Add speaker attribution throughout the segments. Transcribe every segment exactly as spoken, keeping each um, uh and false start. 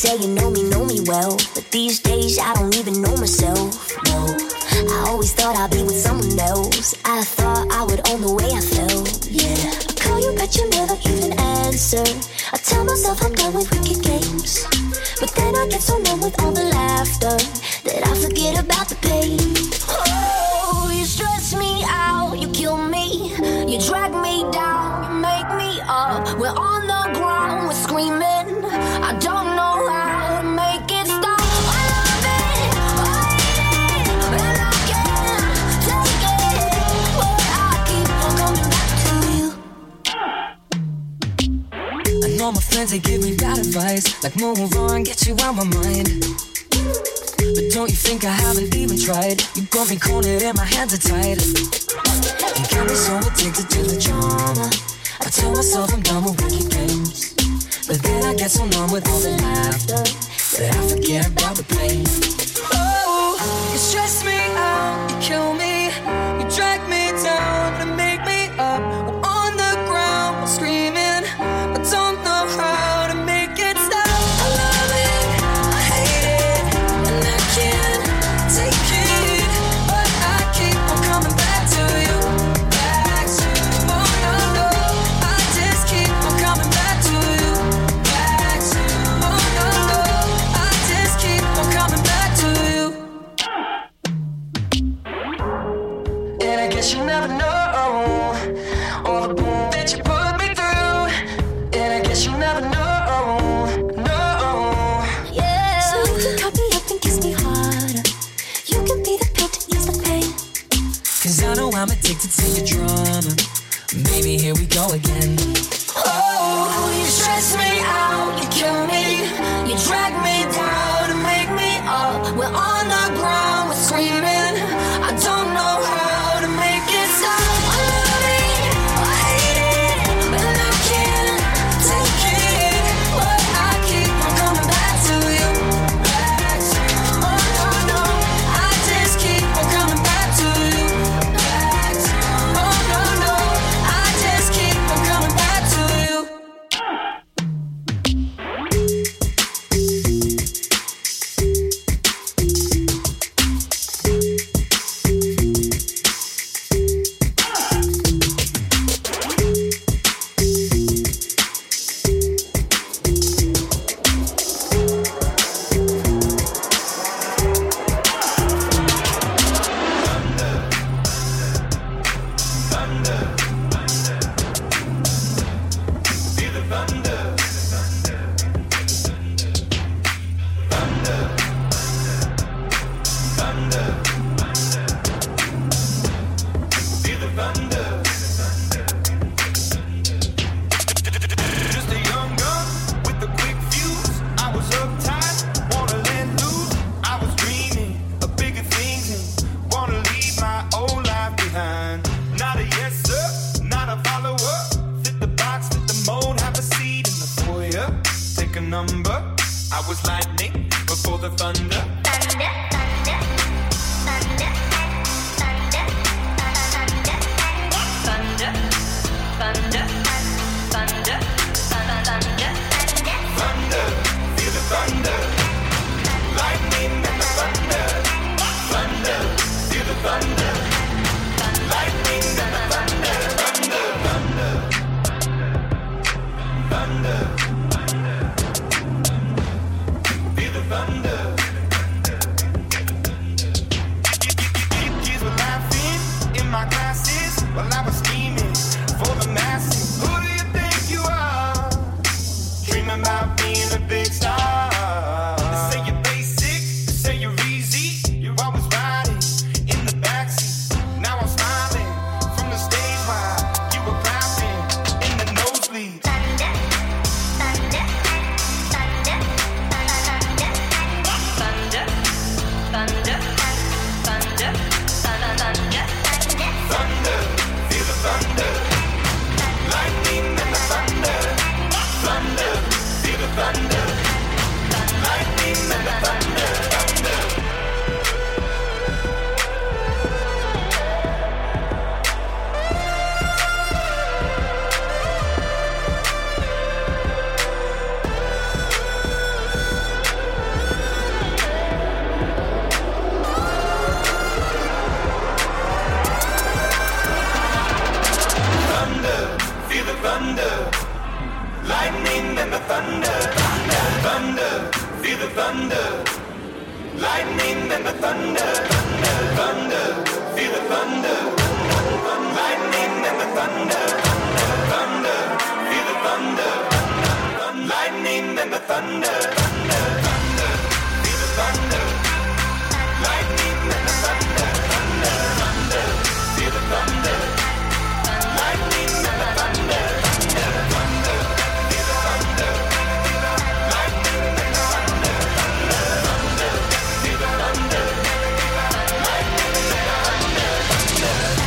Speaker 1: say you know me, know me well, but these days I don't even know myself, no. I always thought I'd be with someone else. I thought I would own the way I felt, yeah. I call you but you never even answer. I tell myself I'm done with wicked games, but then I get so numb with all the laughter that I forget about the pain. Oh, you stress me out, you kill me, you drag me down, you make me up. We're on the ground, we're screaming. I don't know how to make it stop. I love it, I hate it, and I can't take it, but I keep on coming back to you.
Speaker 2: I know my friends, they give me bad advice, like move on, get you out my mind. But don't you think I haven't even tried? You got me cornered and my hands are tied. You got me so addicted to the drama. I tell myself I'm done with wicked games, but then I get so numb with all the laughter that I forget about the pain. Oh, you stress me out, you kill me, you drag me down to make me up. I'm on the ground, I'm screaming, I don't know how to make it stop. I love it, I hate it, and I can't take it, but I keep on coming back to you, back to you. Oh no, no, I just keep on coming back to you, back to you. Oh no, no, I just keep on coming back to you. And I guess you never know all the pain that you put me through. And I guess you never know, no.
Speaker 1: Yeah. So you can cut me up and kiss me harder. You can be the pill to ease the pain.
Speaker 2: Cause I know I'm addicted to your drama. Baby, here we go again. Oh, you stress me out, you kill me, you drag me down to make me up. We're on the ground, we're screaming. I don't know how to make it stop. I love it, I hate it, and I can't take it, but I keep on coming back to you, back to you. Oh no, no, I just keep on coming back to you, back to you. Oh no, no, I just keep on coming back to you.
Speaker 3: Just a young gun with a quick fuse. I was uptight, wanna let loose. I was dreaming of bigger things and wanna leave my old life behind. Not a yes sir, not a follower. Fit the box, fit the mold, have a seat in the foyer. Take a number. I was lightning before the thunder. Thunder, feel the thunder. Lightning and the thunder. Thunder, feel the thunder. Lightning and the thunder. Thunder, thunder. Thunder. Feel the thunder. thunder, thunder, thunder, feel the thunder. Lightning and the thunder, thunder, thunder, feel the thunder. Lightning and the thunder, thunder, thunder, feel the thunder. Lightning and the thunder, thunder, thunder, feel the thunder. Lightning and the thunder, thunder, thunder, feel the thunder. Lightning and the thunder, thunder, thunder, feel the thunder. Lightning and the thunder, thunder, thunder, feel the thunder. Lightning and the thunder, thunder.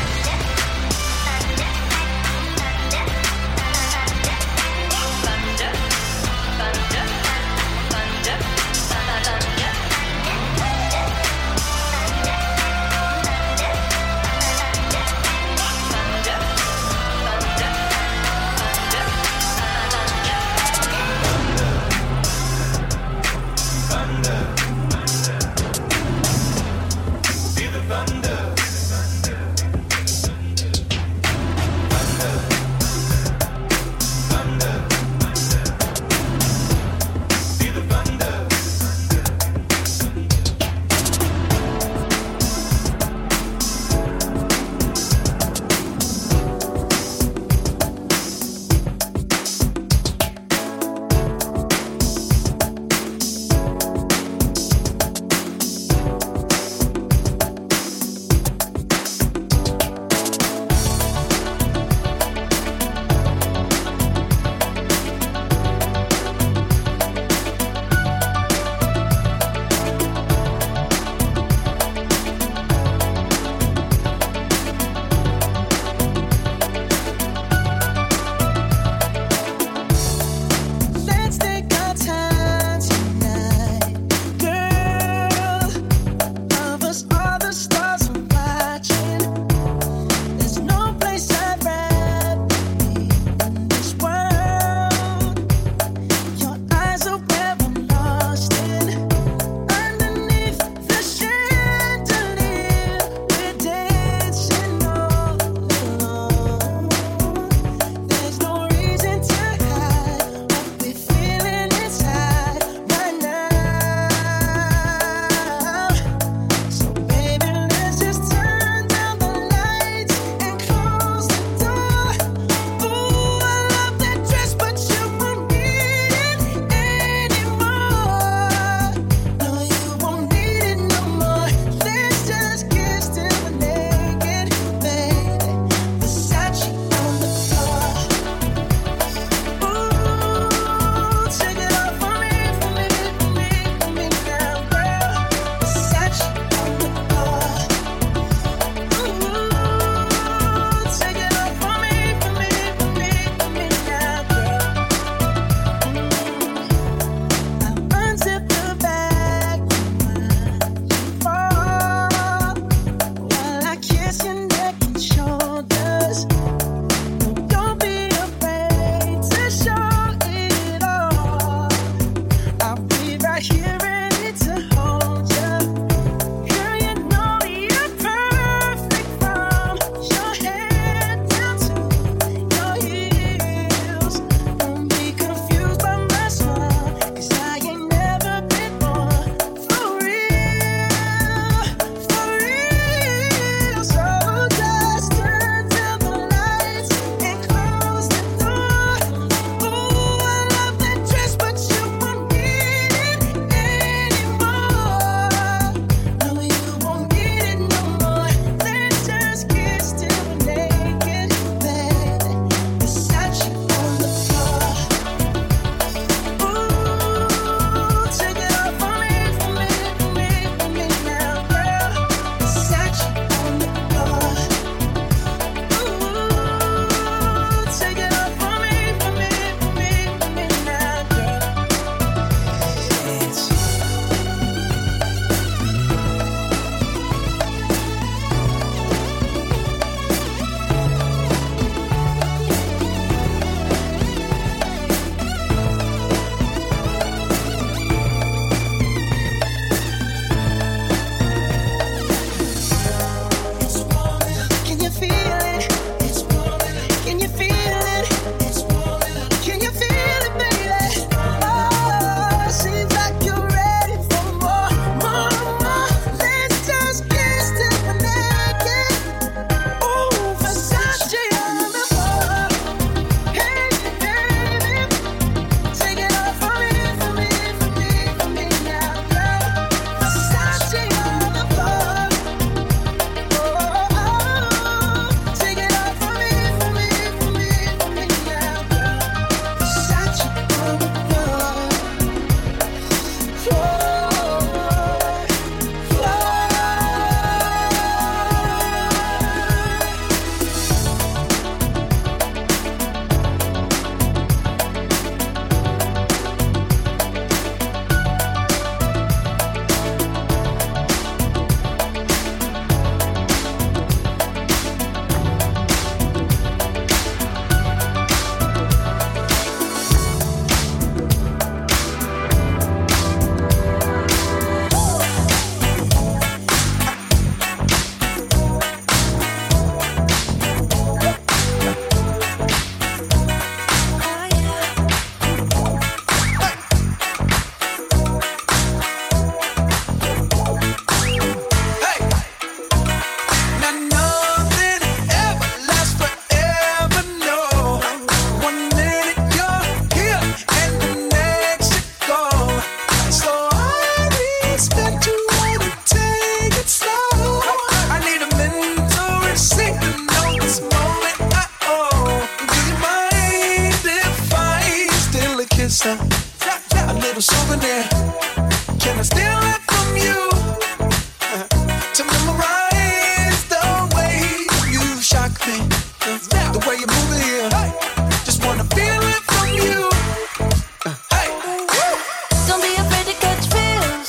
Speaker 4: little souvenir. Can I steal it from you? To memorize the way you shock me, the way you move it here. Just wanna feel it from you. Hey,
Speaker 1: don't be afraid to catch feels.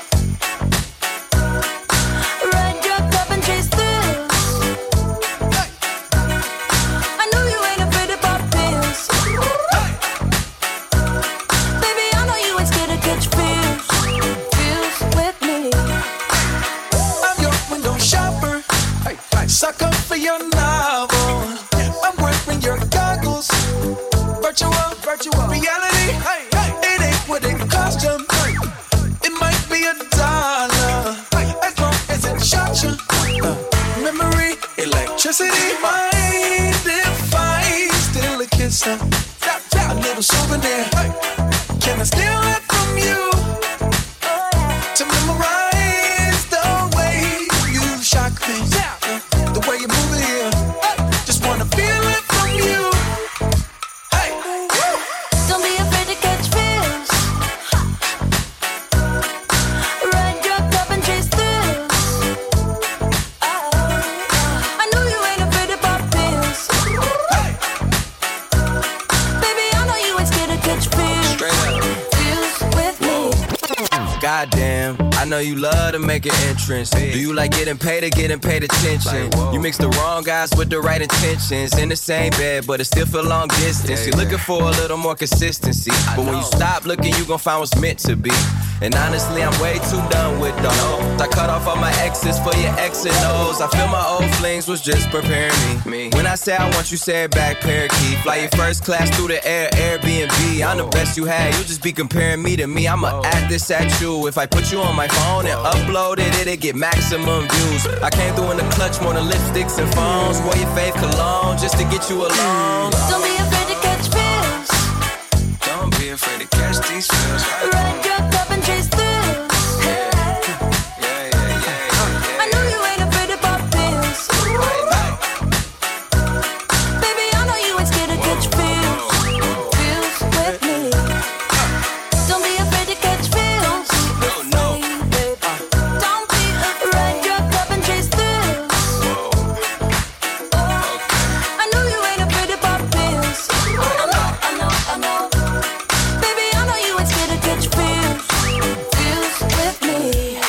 Speaker 1: Ride your cup and chase thrills. I know you ain't afraid to pop pills. Baby, I know you ain't scared to catch feels. Feels with me.
Speaker 4: I'm your window shopper. Sucker for your novel. I'm wearing your goggles. Virtual, virtual reality. It ain't what it cost you. It might be a dollar, as long as it shot you. Uh, memory, electricity. Mind if I steal a kiss? Uh, a little souvenir. Can I steal it from you? To memorize the way you shock me. The way you move it here, just wanna feel it from you. Hey,
Speaker 1: don't be afraid to catch feels. Ride your cup and chase thrills. I know you ain't afraid to pop pills. Baby, I know you ain't scared to catch feels. Feels with me.
Speaker 5: Goddamn, I know you love to make an entrance. Do you like getting paid or getting paid attention? You mix the wrong guys with the right intentions. In the same bed, but it still feel long distance. You're looking for a little more consistency. But when you stop looking, you gon' find what's meant to be. And honestly, I'm way too done with those. I cut off all my exes for your X and O's. I feel my old flings was just preparing me. When I say I want you, say it back, parakeet. Fly your first class through the air, Airbnb. I'm the best you had, you'll just be comparing me to me. I'ma add this at you. If I put you on my phone and upload it, it'll get maximum views. I came through in the clutch more than lipsticks and phones. Wore your fave cologne just to get you alone.
Speaker 1: Don't be afraid to catch feels.
Speaker 5: Don't be afraid to catch these feels.
Speaker 1: Ride your cup and chase thrills. I know you ain't afraid to pop pills. Baby, I know you ain't scared to catch feels. Feels with me. Don't be afraid to catch feels. Don't be afraid. Ride your cup and chase thrills. I know you ain't afraid to pop pills. I know, I know, I know. Baby, I know you ain't scared to catch feels. Feels with me.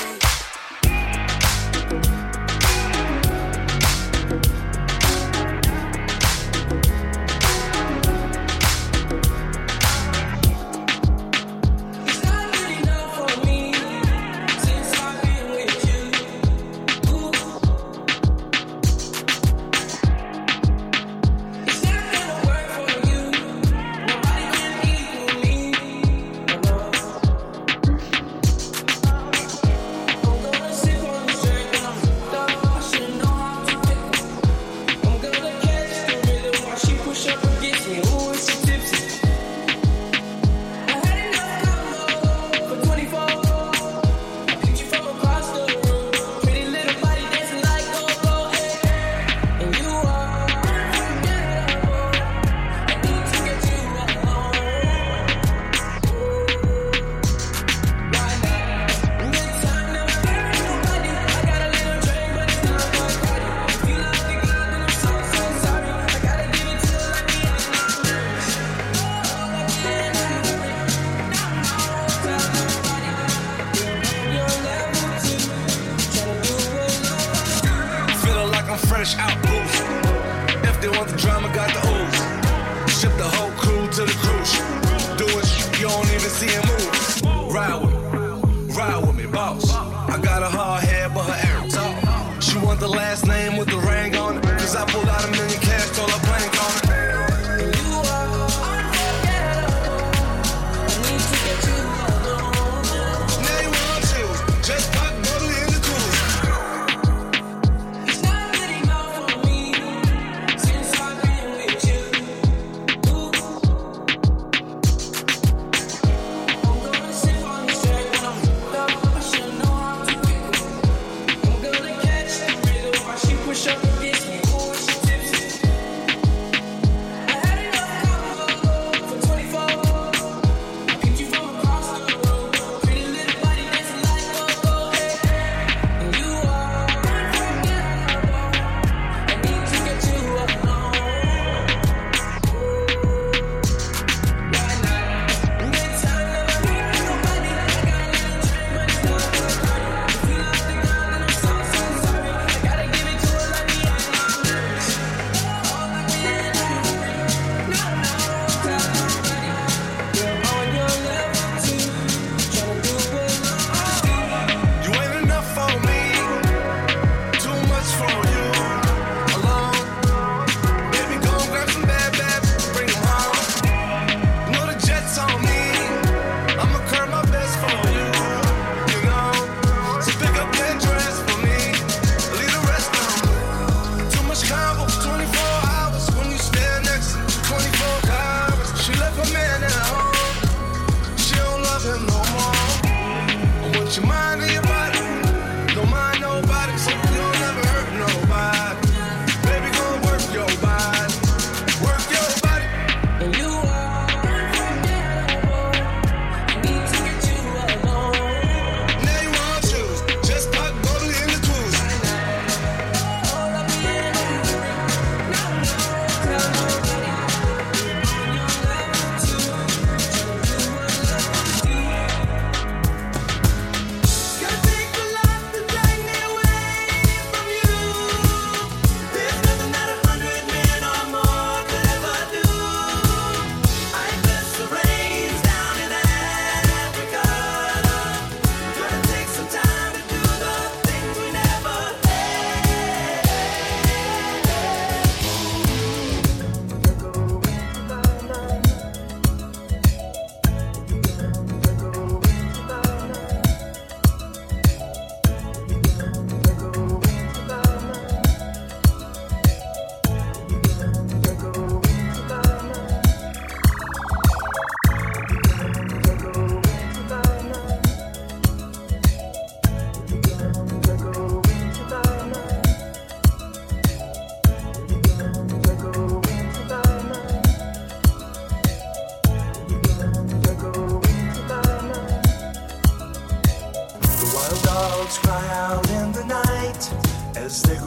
Speaker 3: Fresh out booze. If they want the drama, got the ooze. Ship the whole crew to the cruise. Do it, you don't even see him move. Ride with me, ride with me, boss. I got a hard head, but her air talk. She want the last name with the ring on it. Cause I pulled out a million cash, told her blank on it. Now you want to, just pop bubbly in the cooler.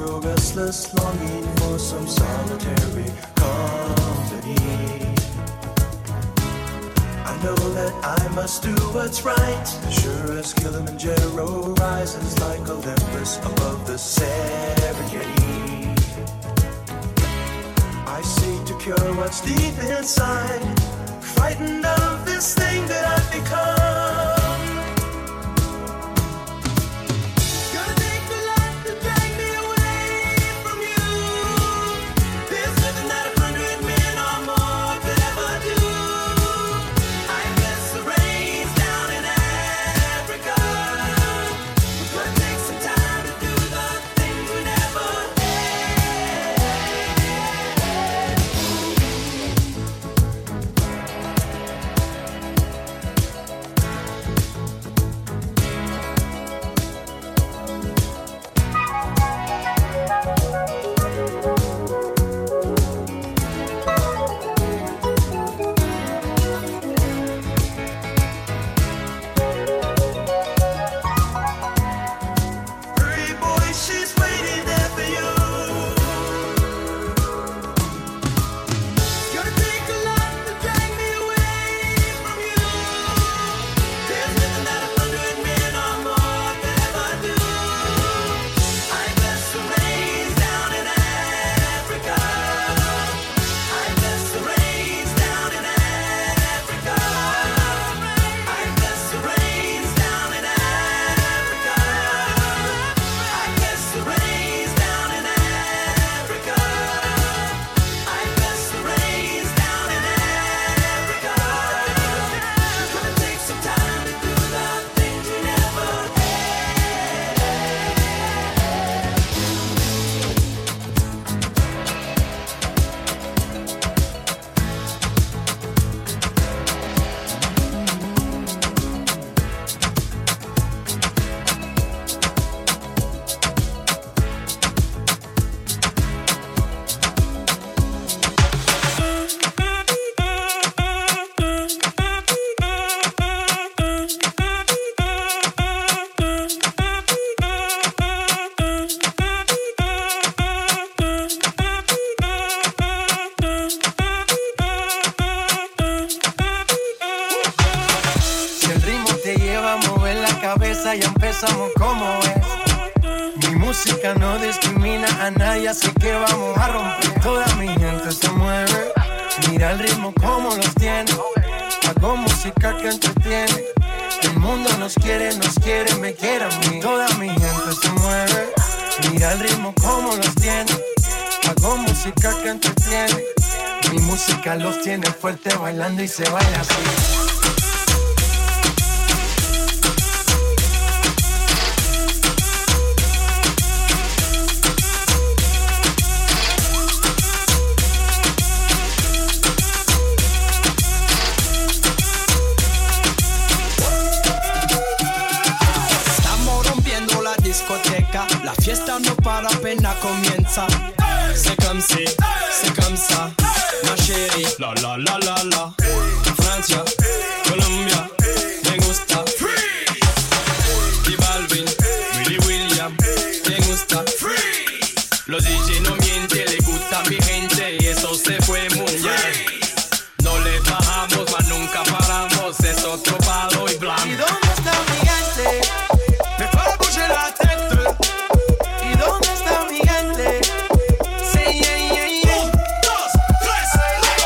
Speaker 6: grow restless, longing for some solitary company. I know that I must do what's right, sure as Kilimanjaro rises like Olympus above the Serengeti. I seek to cure what's deep inside, frightened of this thing that I've become. Gonna take the light to drag me away from you. There's nothing that a hundred men or more could ever do. I guess the rain's down in Africa. It's gonna take some time to do the things we never Hurry, boy, she's waiting there for you. Gonna take a lot to drag me away from you. There's nothing that a hundred men or more could ever do. I guess the rain's down in Africa. I guess the rain's down in Africa. I guess the rain's down in Africa. I guess the rain's down in Africa. I guess the rain's down in Africa. It's gonna take some time to do the things we never
Speaker 7: Si el ritmo te lleva a mover la cabeza, ya empezamos como es. Mi música no discrimina a nadie, así que vamos a romper. Toda mi gente se mueve, mira el ritmo como los tiene. Hago música que entretiene. El mundo nos quiere, nos quiere, me quiere a mí. Toda mi gente se mueve, mira el ritmo como los tiene. Hago música que entretiene. Mi música los tiene fuerte bailando y se baila así.
Speaker 8: Estamos rompiendo la discoteca, la fiesta no para, apenas comienza. C'est comme si, c'est comme ça, ma chérie. La la la la la. Francia, Colombia, me gusta. Freeze. Y Balvin, Willy William, me gusta. Freeze. Los D J no mienten, le gusta mi gente y eso se fue muy bien. No le bajamos, mas nunca paramos, es otro palo y blanco.
Speaker 7: ¿Y dónde está mi gente?
Speaker 8: Me fais bouger la tête.
Speaker 7: ¿Y dónde está mi gente? Sí, yeah, yeah, yeah.
Speaker 8: Un, dos, tres, go.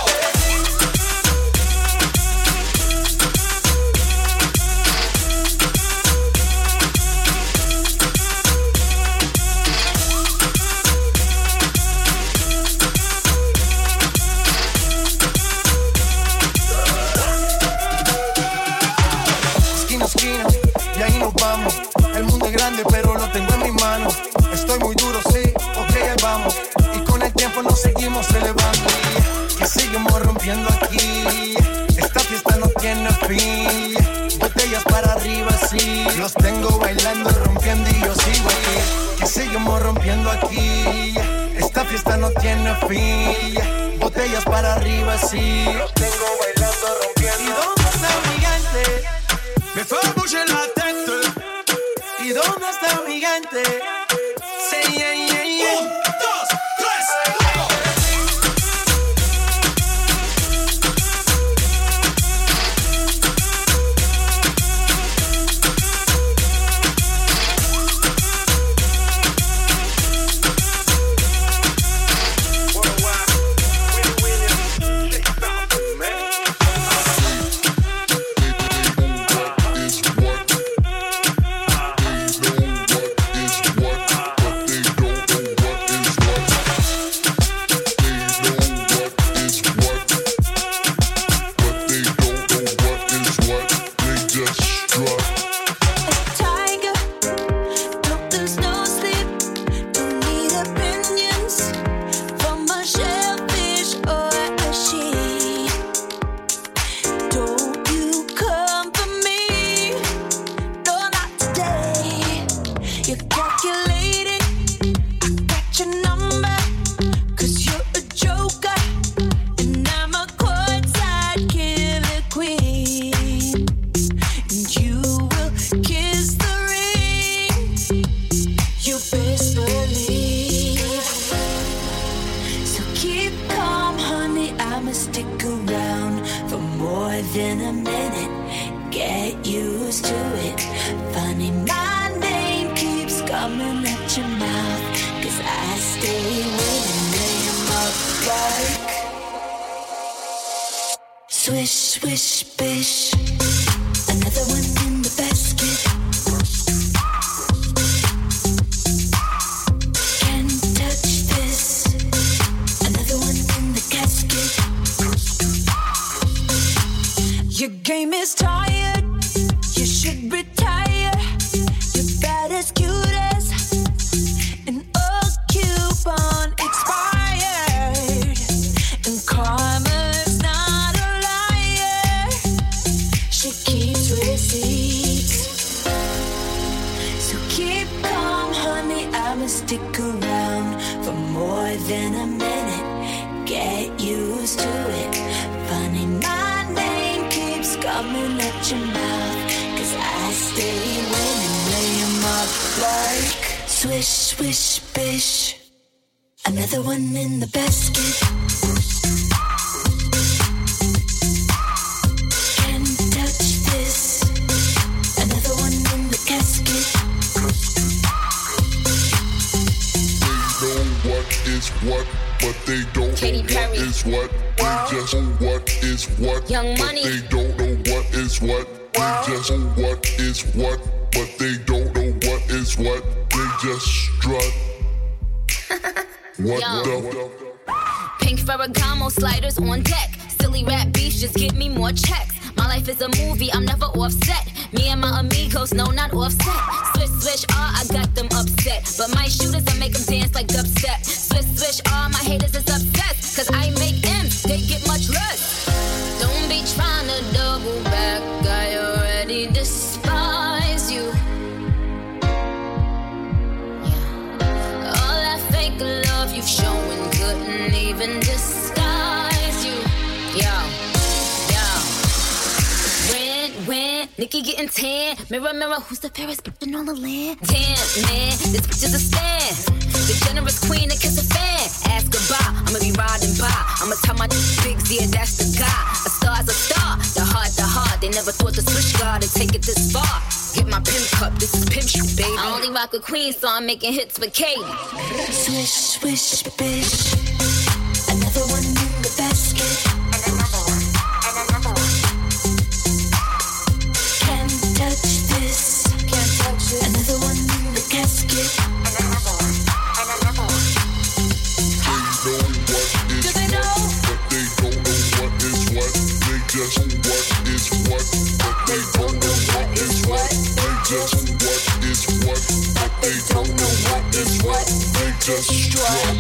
Speaker 7: Esquina, esquina, y ahí nos vamos. El mundo es grande, pero lo tengo en mis manos. Estoy muy duro, sí, ok, ahí vamos. Y con el tiempo nos seguimos elevando. Y que seguimos rompiendo aquí. Esta fiesta no tiene fin. Botellas para arriba, sí. Los tengo bailando, rompiendo y yo sigo aquí. Que seguimos rompiendo aquí. Esta fiesta no tiene fin. Botellas para arriba, sí. Los tengo bailando, rompiendo. ¿Y dónde está mi gente?
Speaker 8: Me fais bouger la tête.
Speaker 7: ¿Y dónde está mi gente? Sí, yeah, yeah, yeah.
Speaker 1: than a minute. Get used to it. Funny, my name keeps coming at your mouth. Cause I stay winning, name up like swish, swish, bish. Another one in the basket. Can't touch this. Another one in the casket.
Speaker 2: Your game is tired. You should retire. You're bad as cute as an old coupon expired. And karma's not a liar. She keeps receipts. So keep calm, honey. I'ma stick around for more than a minute. Get used to it. Funny, my name keeps coming at your mouth. Cause I stay winning, lay 'em up like swish, swish, bish. Another one in the basket. Can't touch this. Another one in the casket.
Speaker 9: They know what is what, but they don't
Speaker 10: Katy
Speaker 9: know
Speaker 10: Perry.
Speaker 9: what is what. They just know what is what,
Speaker 10: Young
Speaker 9: but
Speaker 10: Money.
Speaker 9: they don't know what is what. They just know what is what, but they don't know what is what. They just strut. What
Speaker 10: Yo.
Speaker 9: the?
Speaker 10: Pink Ferragamo sliders on deck. Silly rap beefs just give me more checks. My life is a movie, I'm never offset. Me and my amigos, no, not offset. Swish, swish, ah, I got them upset. But my shooters, I make them dance like dubstep. Swish, swish, ah, my haters is obsessed. Cause I make M's, they get much less. Don't be trying to double back, I already despise you. Yeah. All that fake love you've shown couldn't even disguise you. Yeah. When, when, Nikki getting tan. Mirror, mirror, who's the fairest bitch in all the land? Damn, man, this bitch is a stand. The generous queen that kiss a fan. Ask goodbye, I'ma be riding by. I'ma tell my big yeah, that's the guy. A star's a star, the heart, the heart. They never thought the switch guard would take it this far. Get my pimp cup, this is pimp shit, baby. I only rock with queen, so I'm making hits with Katy.
Speaker 1: Swish, swish, bish. Another one in the basket. Can't touch this. Can't touch it. Another one in the casket.
Speaker 9: They know what is what, but they don't know what is what. They just know what is what, but they don't know what is what. They just know what is what, but they don't know what is what. They just strut.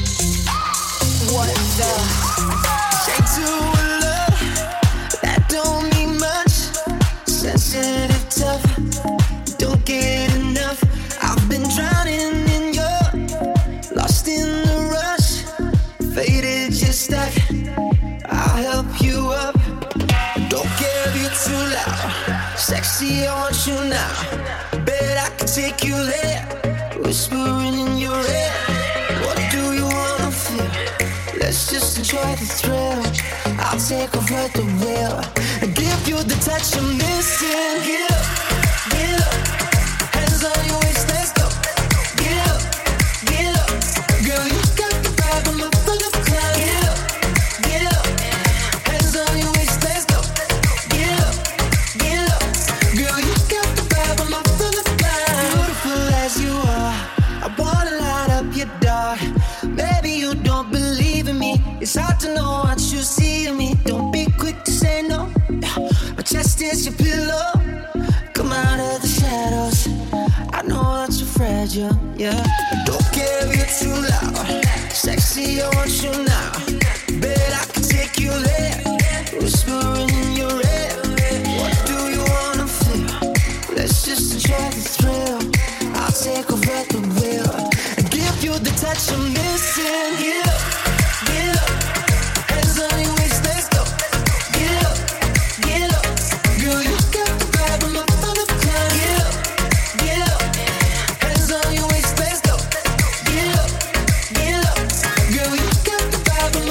Speaker 2: What the? Say to a love that don't mean much. Sensitive, tough, don't get enough. I've been drowning in your, lost in the rush, faded, just stuck. I'll help you up. Don't care if you're too loud. Sexy, I want you now. Bet I can take you there. Whispering in your ear. What do you wanna feel? Let's just enjoy the thrill. I'll take over the wheel and give you the touch I'm missing. Get up, get up. Hands on your waist, let's go. Get up, get up. Girl, you got the vibe, I'm up for the climb. Get up, get up. Hands on your waist, let's go. Get up, get up. Girl, you got the vibe, I'm up for the climb. Beautiful as you are, I wanna light up your dark. Maybe you don't believe in me. It's hard to know what you see in me. Don't be quick to say no. My chest is your pillow. Come out of the shadows. I know that you're fragile, yeah. Don't care if you're too loud. Sexy, I want you now. Bet I can take you there. Whispering in your ear. What do you wanna feel? Let's just enjoy the thrill. I'll take over the wheel and give you the touch I'm missing. Get up, get up. Hands on your waist, let's go. Get up, get up. Girl, you got the vibe, I'm up for the climb. Get up, get up. Hands on your waist, let's go. Get up, get up. Girl, you got the vibe, I'm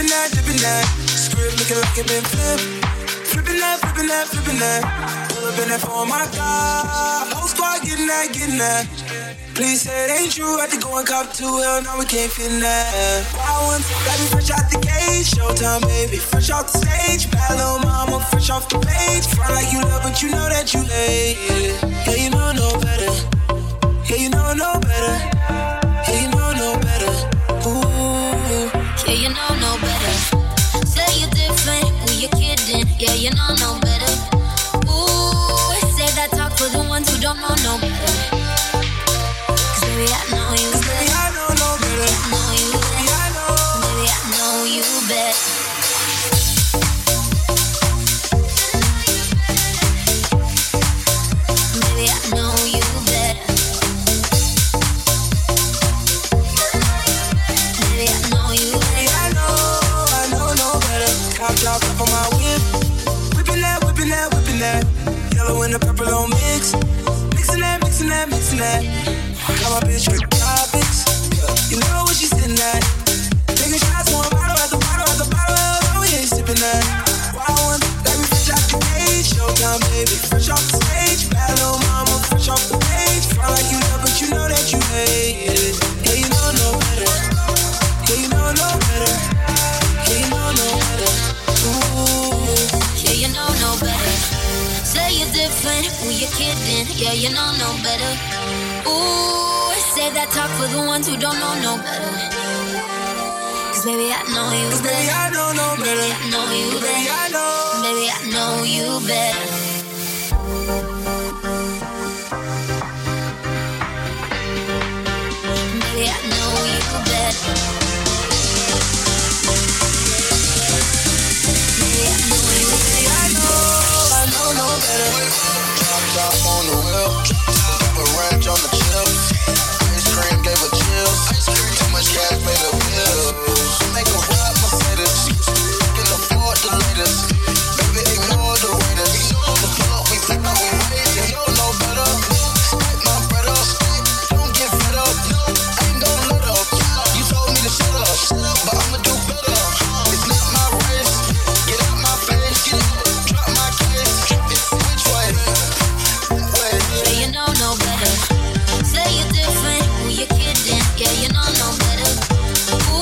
Speaker 4: dipping that, dipping that. Script looking like it been flipped. Flipping that, flipping that, flipping that. Pull up in that for my God. Whole squad getting that, getting that. Please say it ain't true. Had to go and cop two. Hell no, we can't fit in that. Wild ones, got me fresh out the cage. Showtime, baby, fresh off the stage. Bad little mama, fresh off the page. Front like you love, but you know that you hate. Yeah, you know no better. Yeah, you know no better. Yeah, you know no better. Ooh.
Speaker 10: Yeah, you know no better. Say you're different, who you kidding? Yeah, you know no better. Ooh, say that talk for the ones who don't know no better. Cause baby, I know you better.
Speaker 4: Baby, I know no better.
Speaker 10: I know you better.
Speaker 4: Baby, I know.
Speaker 10: Baby, I know you better. Baby, I know you better. Baby, I know you better.
Speaker 4: Baby, I know, I know no better. Top drop up on my whip. Whipping that, whipping that, whipping that. Yellow and the purple on mix. Mixing that, mixing that, mixing that. Got my bitch with topics. You know what she's sitting at. Taking shots, one bottle at the bottle at the bottle. Oh, we ain't sipping that. Wild one, like we fresh out the cage. Showtime, baby, fresh off the stage. Bad little mama, fresh off the page. Front like you love, but you know that you hate it. Yeah, you know no better. Yeah, you know no better. Yeah, you know no better. Ooh.
Speaker 10: Yeah, you know no better. Say you're different, who you kidding? Yeah, you know no better. Ooh, say that talk for the ones who don't know no better. Cause baby, I know you
Speaker 4: Cause baby,
Speaker 10: better.
Speaker 4: I know no better.
Speaker 10: Baby, I know you
Speaker 4: Baby,
Speaker 10: better.
Speaker 4: I know.
Speaker 10: Baby, I know you better. Baby, I know you better. Baby, I know you
Speaker 4: Baby, I know, I know no better.
Speaker 11: Drop top on the wheel, drop a ranch on the chip. Ice cream gave her chills. Too much cash made her bills. Make a ride Mercedes, can afford the latest. Baby, ignore the waiters. The pull up, we flip out, we wait. You don't know better. Swipe my bread up, don't get fed up. I ain't gon' let up. You told me to shut up, but I'ma do better. It's not my race. Get out my face. Drop my case. Which way? That way.
Speaker 10: Yeah, you know no better. Say you're different, who you kidding? Yeah, you know no better. Ooh,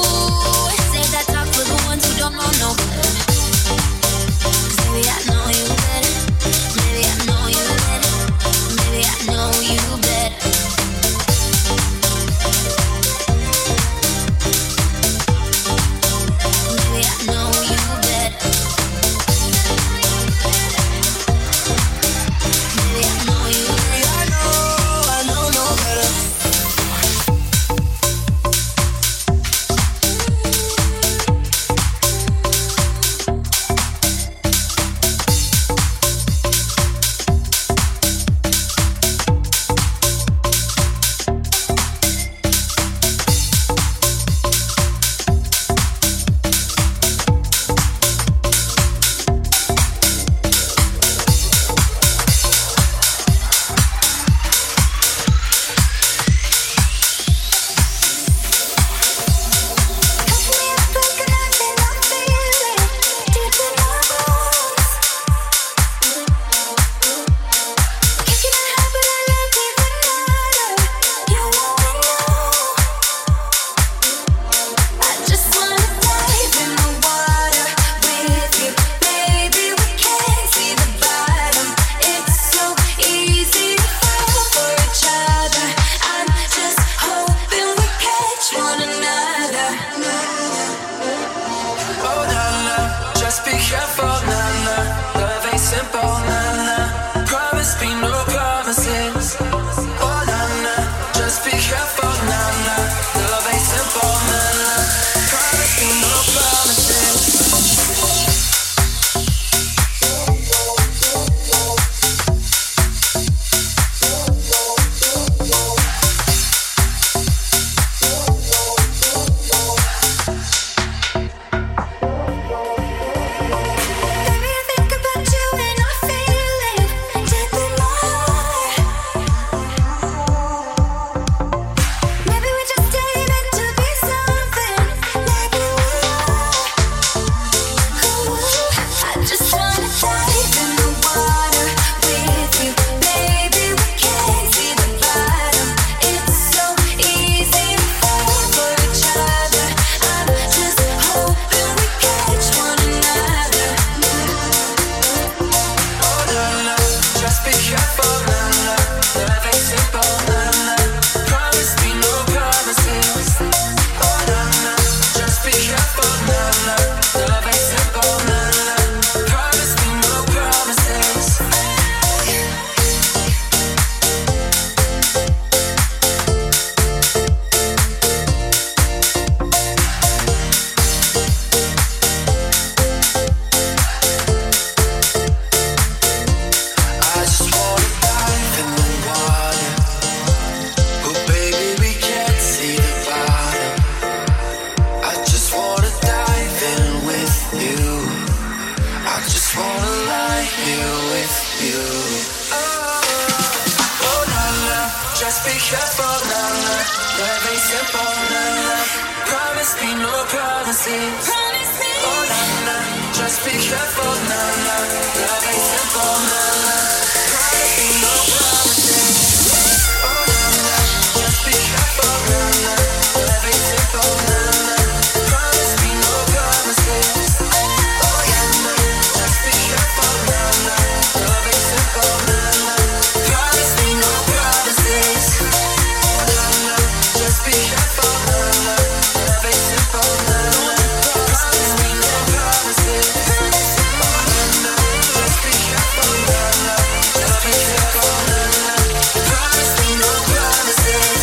Speaker 11: promises. Oh na na, just be careful, na na. Love ain't simple, na na. Promise me no promises. Oh na na, just be careful, na na. Love ain't simple, na na. Promise me no promises. Oh yeah, na, just be careful, na na. Love ain't simple, na na. Promise me no promises. Oh na na, just be careful, na na. Love ain't simple, na na. Promise me no promises. Oh na na, just be careful, na na. Love ain't simple, na na. Promise me no promises.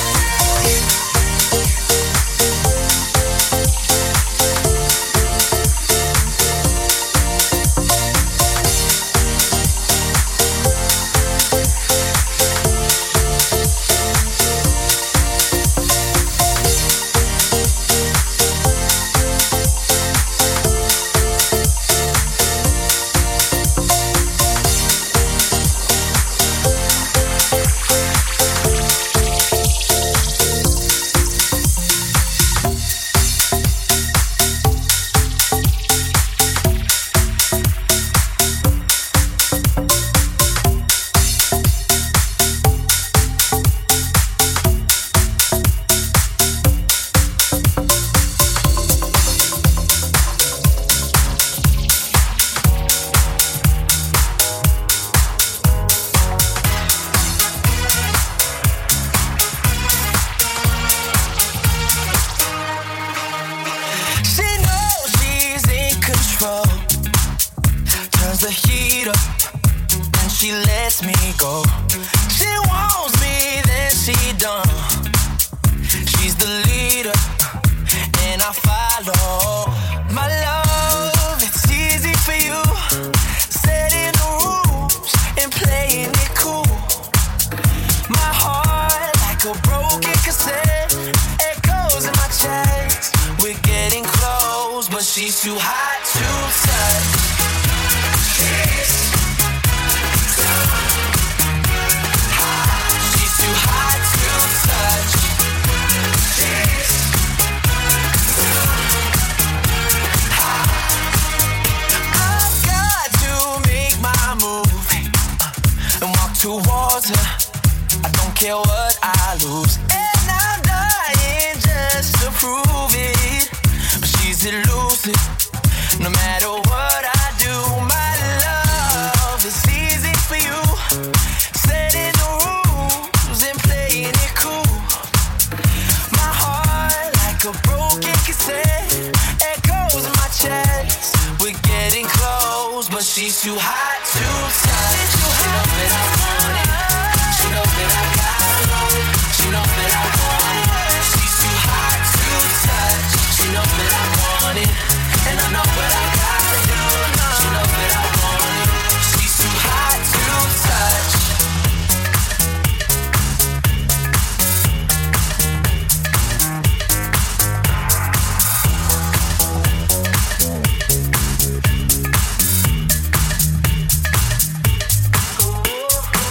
Speaker 11: She knows she's in control. Turns the heat up and she lets me go. She wants me, then she done. She's the leader and I follow. My love, it's easy for you. Setting the rules and playing it cool. My heart like a broken cassette. Echoes in my chest. We're getting close, but she's too hot to touch. She's too hot. She's too hot to touch. She's too hot. I've got to make my move and walk towards her. I don't care what I lose, and I'm dying just to prove it. But she's elusive, no matter what I do. My love is easy for you, setting the rules and playing it cool. My heart like a broken cassette, echoes in my chest. We're getting close, but she's too hot to touch. She knows that I want it. She knows that I got it. She knows that I want it. She's too hot to touch. She knows that I want it, and I know what I gotta do. She knows that I want it. She's too hot to touch. Ooh.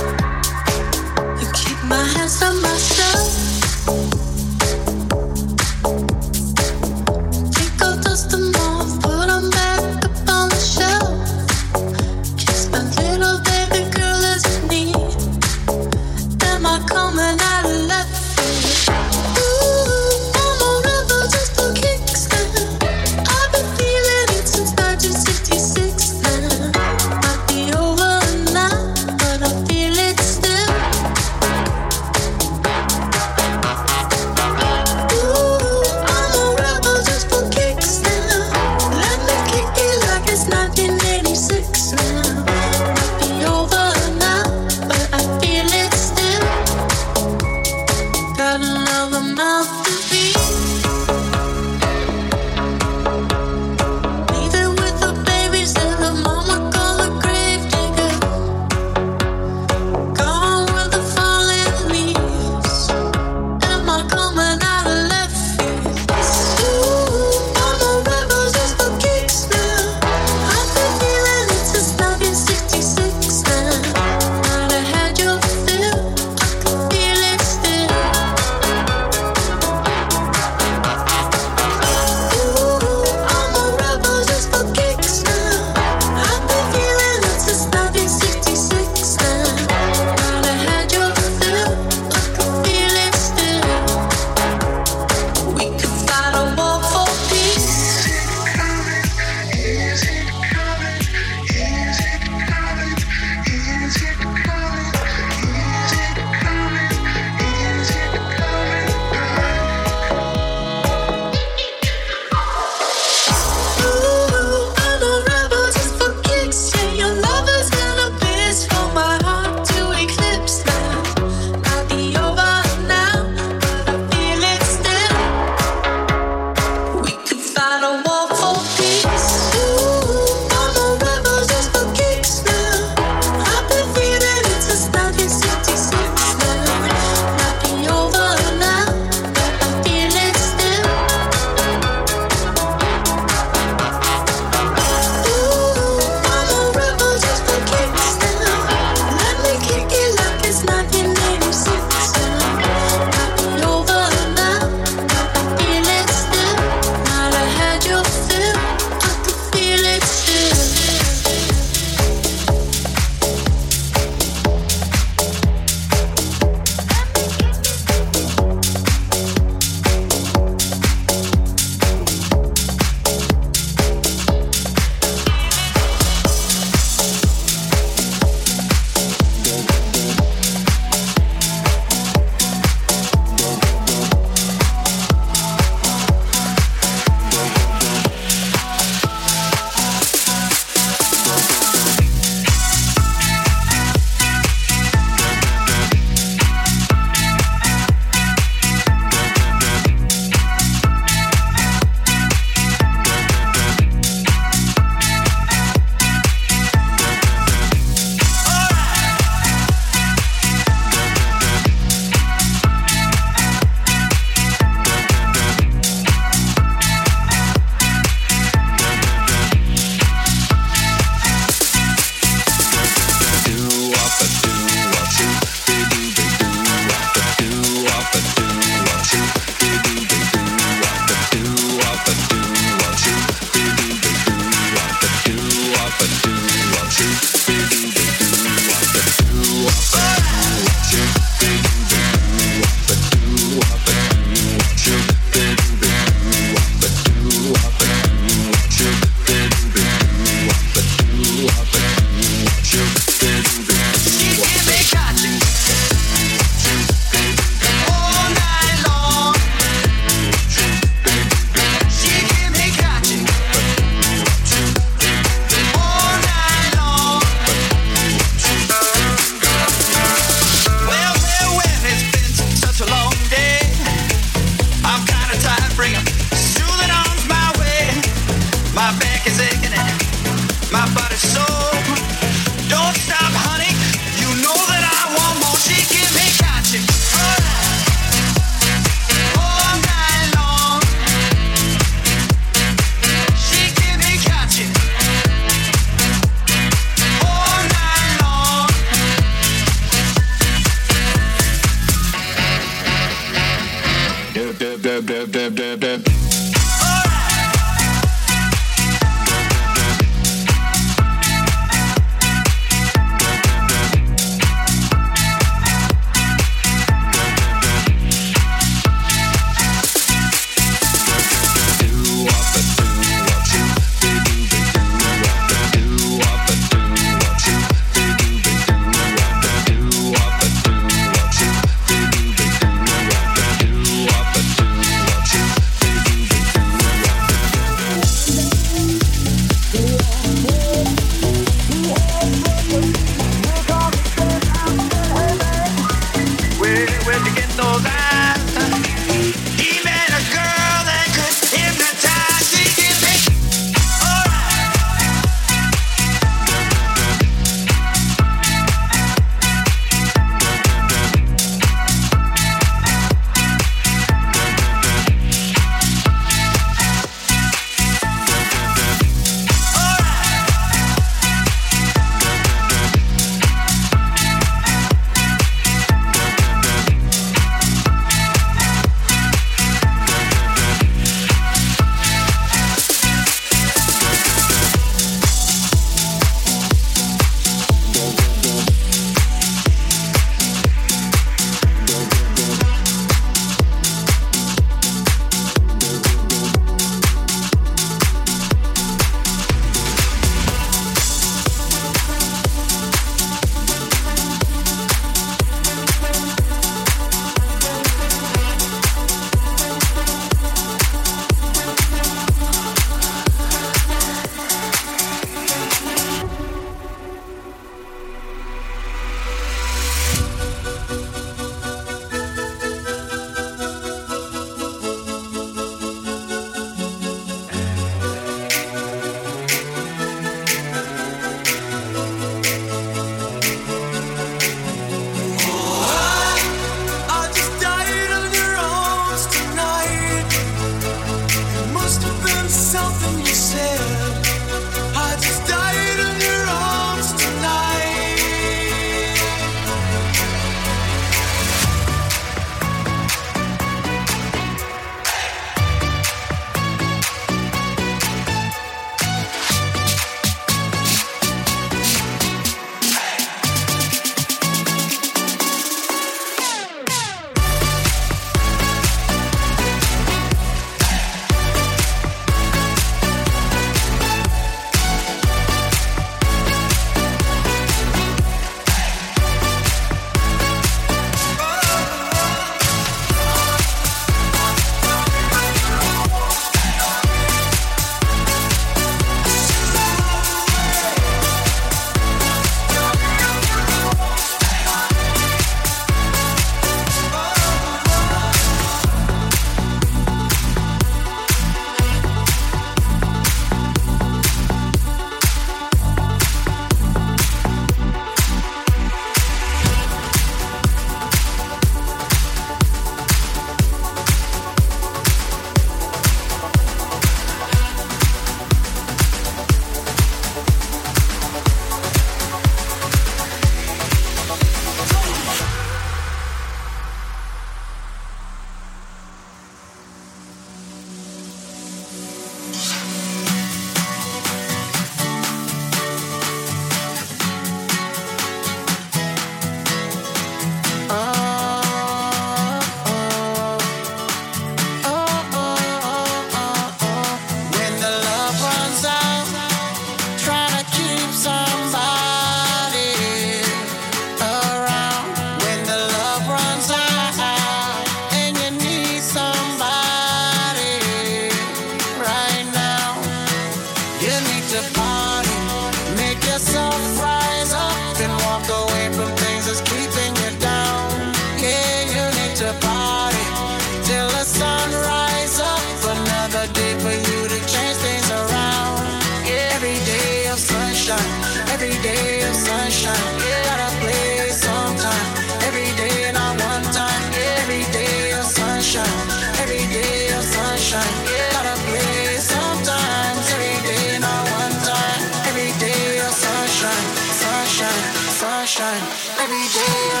Speaker 11: yourself rise up and walk away from things that's keeping you down. Yeah, you need to party till the sun rise up. Another day for you to change things around. Yeah, every day of sunshine, every day of sunshine. Yeah, gotta play sometime. Every day, not one time. Yeah, every day of sunshine, every day of sunshine. Yeah, gotta play sometimes. Every day, not one time. Every day of sunshine, sunshine, sunshine. Every day of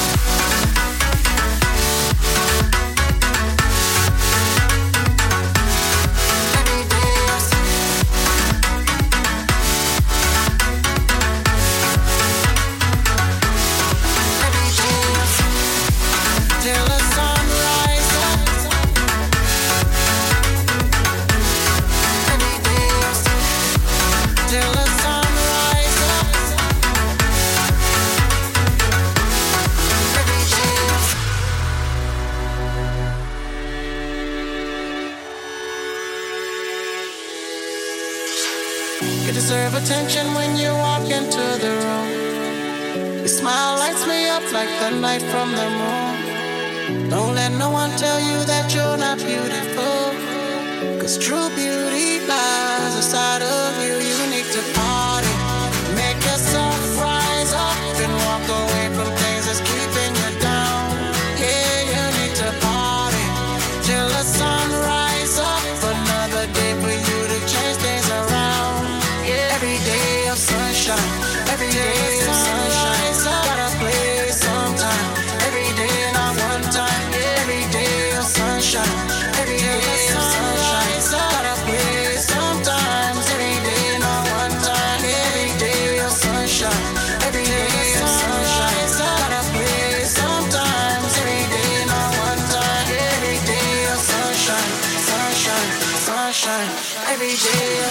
Speaker 11: deserve attention when you walk into the room. Your smile lights me up like the light from the moon. Don't let no one tell you that you're not beautiful, 'cause true beauty lies inside of you. You need to party, make yourself rise up and walk away from things that's keeping you down. Yeah, you need to party till the sun rise up. Another day for you to change things around. Every day of sunshine, every day of sunshine. Gotta play sometime. Every day, not one time. Every day of sunshine, every day of sunshine. Gotta play sometimes. Every day, not one time. Every day of sunshine, every day of sunshine. Gotta play sometimes. Every day, not one time. Every day of sunshine, sunshine, sunshine. Every day of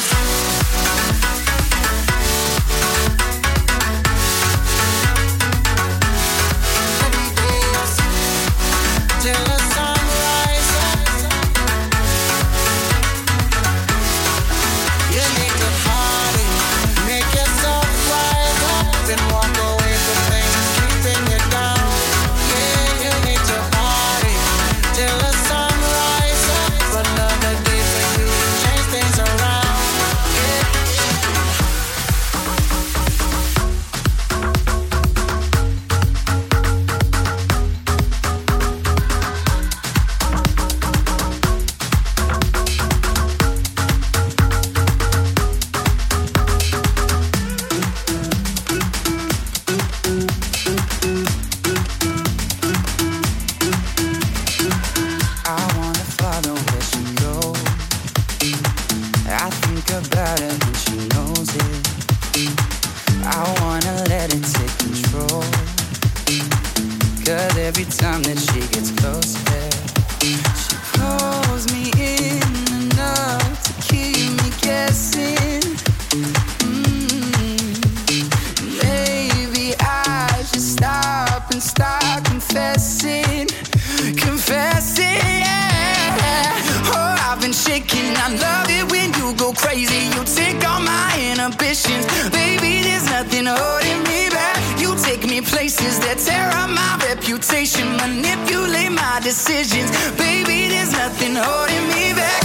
Speaker 11: till the sun rises. You need to party, make yourself rise up and walk away from things keeping you down. Yeah, you need to party till the sun rises up. Another day for you to change things around.
Speaker 12: I wanna follow where she goes. I think about it and she knows it. I wanna let it take control. 'Cause every time that she gets closer, she pulls me in enough to keep me guessing. Mm. Maybe I should stop and start confessing. Confessing, yeah. Oh, I've been shaking. I love it when you go crazy. You take all my inhibitions. Baby, there's nothing holding me back. You take me places that tear up my reputation. Manipulate my decisions. Baby, there's nothing holding me back.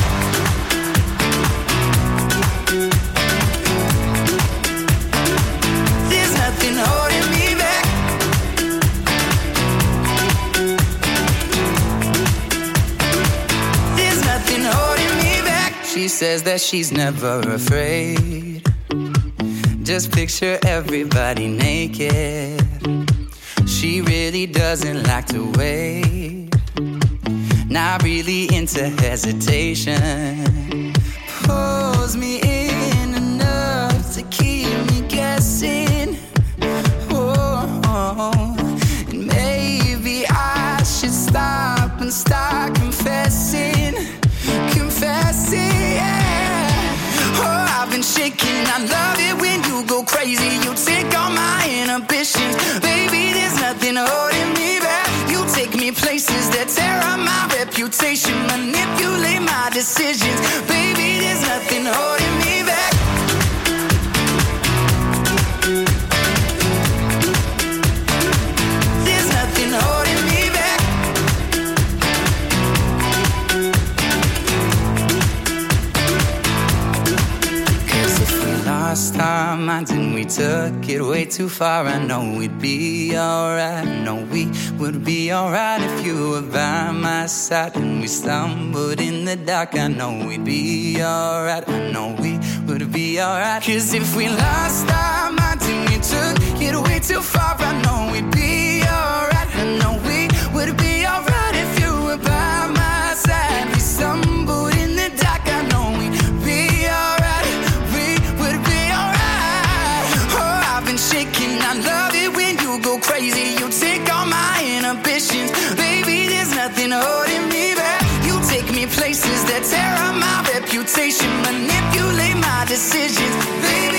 Speaker 12: There's nothing holding me back. There's nothing holding me back. She says that she's never afraid. Just picture everybody naked. She really doesn't like to wait. Not really into hesitation. Pulls me in enough to keep me guessing. Oh, and maybe I should stop and start confessing. Confessing, yeah. Oh, I've been shaking. I love it when you go crazy. You take all my inhibitions. Baby, there's nothing holding me back. You take me places that tear up my reputation. Manipulate my decisions. Baby, there's nothing holding me back. lost our minds and we took it way too far. I know we'd be alright. I know we would be alright if you were by my side. And we stumbled in the dark. I know we'd be alright. I know we would be alright. Cause if we lost our minds and we took it way too far, I know we'd be alright. I know we would be alright if you were by my side. We stumbled in the dark. I know we'd be alright. We would be alright. Oh, I've been shaking. I love it when you go crazy. You take all my inhibitions. Baby, there's nothing holding me back. You take me places that tear up my reputation, manipulate my decisions. Baby,